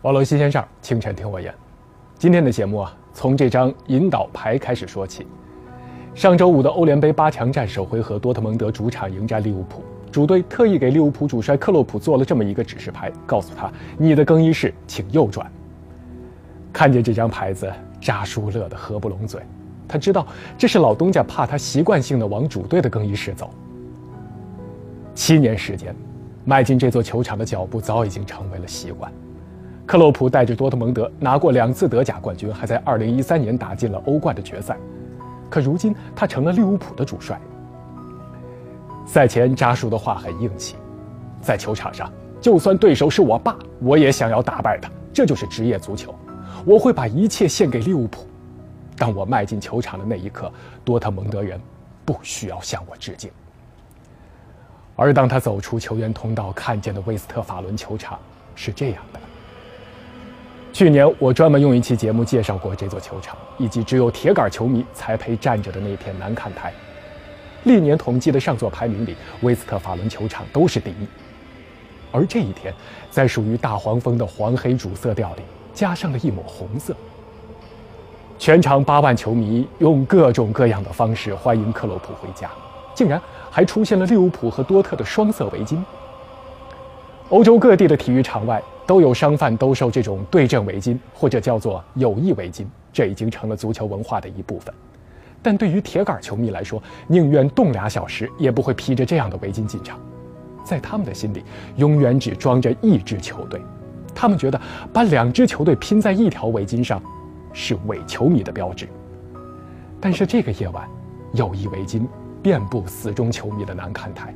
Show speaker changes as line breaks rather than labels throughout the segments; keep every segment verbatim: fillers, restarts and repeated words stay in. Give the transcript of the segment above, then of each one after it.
网络新鲜事儿，清晨听我言。今天的节目啊，从这张引导牌开始说起。上周五的欧联杯八强战首回合，多特蒙德主场迎战利物浦，主队特意给利物浦主帅克洛普做了这么一个指示牌，告诉他：你的更衣室请右转。看见这张牌子，扎叔乐得合不拢嘴。他知道这是老东家怕他习惯性的往主队的更衣室走。七年时间，迈进这座球场的脚步早已经成为了习惯。克洛普带着多特蒙德拿过两次德甲冠军，还在二零一三年打进了欧冠的决赛。可如今他成了利物浦的主帅。赛前扎叔的话很硬气，在球场上，就算对手是我爸，我也想要打败他，这就是职业足球。我会把一切献给利物浦。当我迈进球场的那一刻，多特蒙德人不需要向我致敬。而当他走出球员通道，看见的威斯特法伦球场是这样的。去年我专门用一期节目介绍过这座球场，以及只有铁杆球迷才配站着的那片南看台。历年统计的上座排名里，威斯特法伦球场都是第一。而这一天，在属于大黄蜂的黄黑主色调里，加上了一抹红色。全场八万球迷用各种各样的方式欢迎克洛普回家，竟然还出现了利物浦和多特的双色围巾。欧洲各地的体育场外都有商贩兜售这种对阵围巾，或者叫做友谊围巾，这已经成了足球文化的一部分。但对于铁杆球迷来说，宁愿冻俩小时也不会披着这样的围巾进场。在他们的心里，永远只装着一支球队，他们觉得把两支球队拼在一条围巾上是伪球迷的标志。但是这个夜晚，友谊围巾遍布死忠球迷的南看台。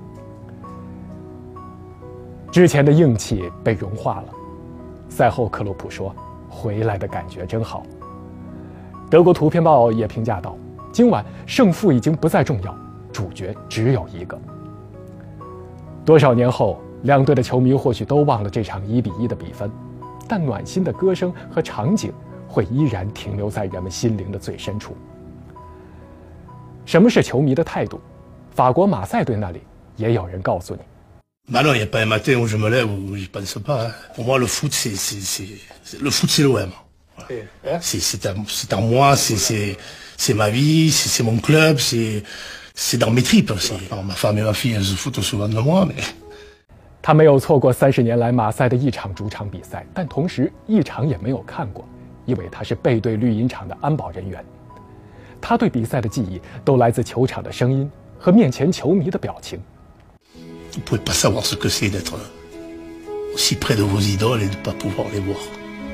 之前的硬气被融化了。赛后克洛普说：回来的感觉真好。德国图片报也评价道：今晚胜负已经不再重要，主角只有一个。多少年后，两队的球迷或许都忘了这场一比一的比分，但暖心的歌声和场景会依然停留在人们心灵的最深处。什么是球迷的态度？法国马赛队那里也有人告诉你。
Bah non, il n'y a pas un matin où je me lève où j'y pense pas. Pour moi, le foot, c'est, c'est, c'est, le foot, c'est l'O M. Voilà. C'est, c'est, à, c'est à moi, c'est, c'est, c'est ma vie, c'est, c'est mon club, c'est, c'est dans mes tripes. C'est, alors, ma femme et ma fille, elles se foutent souvent de moi, mais.
他没有错过三十年来马赛的一场主场比赛，但同时一场也没有看过，因为他是背对绿茵场的安保人员。他对比赛的记忆都来自球场的声音和面前球迷的表情。
Vous ne pouvez pas savoir ce que c'est d'être aussi près de vos idoles et de ne pas pouvoir les voir.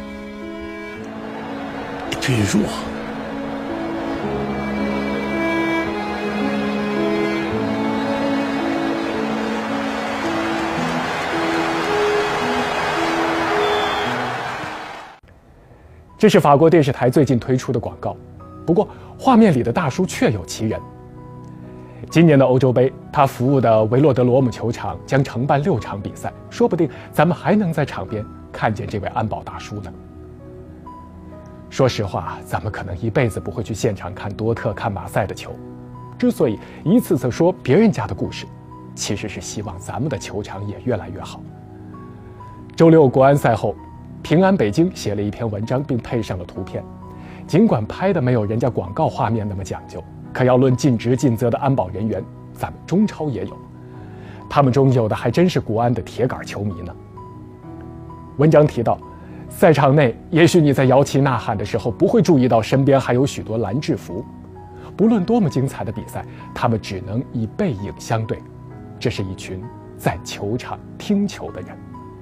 Et puis un jour,
« 这是法国电视台最近推出的广告，不过画面里的大叔确有其人。今年的欧洲杯，他服务的维洛德罗姆球场将承办六场比赛，说不定咱们还能在场边看见这位安保大叔呢。说实话，咱们可能一辈子不会去现场看多特、看马赛的球。之所以一次次说别人家的故事，其实是希望咱们的球场也越来越好。周六国安赛后，平安北京写了一篇文章，并配上了图片。尽管拍的没有人家广告画面那么讲究，可要论尽职尽责的安保人员，咱们中超也有。他们中有的还真是国安的铁杆球迷呢。文章提到，赛场内也许你在摇旗呐喊的时候不会注意到身边还有许多蓝制服，不论多么精彩的比赛，他们只能以背影相对。这是一群在球场听球的人。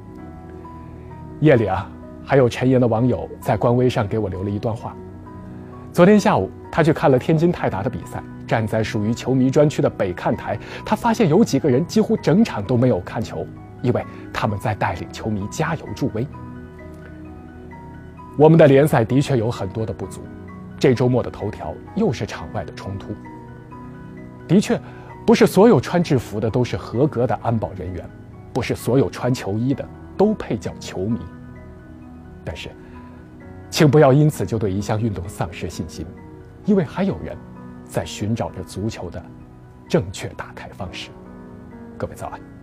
夜里啊，还有陈岩的网友在官微上给我留了一段话。昨天下午，他去看了天津泰达的比赛，站在属于球迷专区的北看台，他发现有几个人几乎整场都没有看球，因为他们在带领球迷加油助威。我们的联赛的确有很多的不足，这周末的头条又是场外的冲突。的确，不是所有穿制服的都是合格的安保人员，不是所有穿球衣的都配叫球迷。但是请不要因此就对一项运动丧失信心，因为还有人在寻找着足球的正确打开方式。各位早安。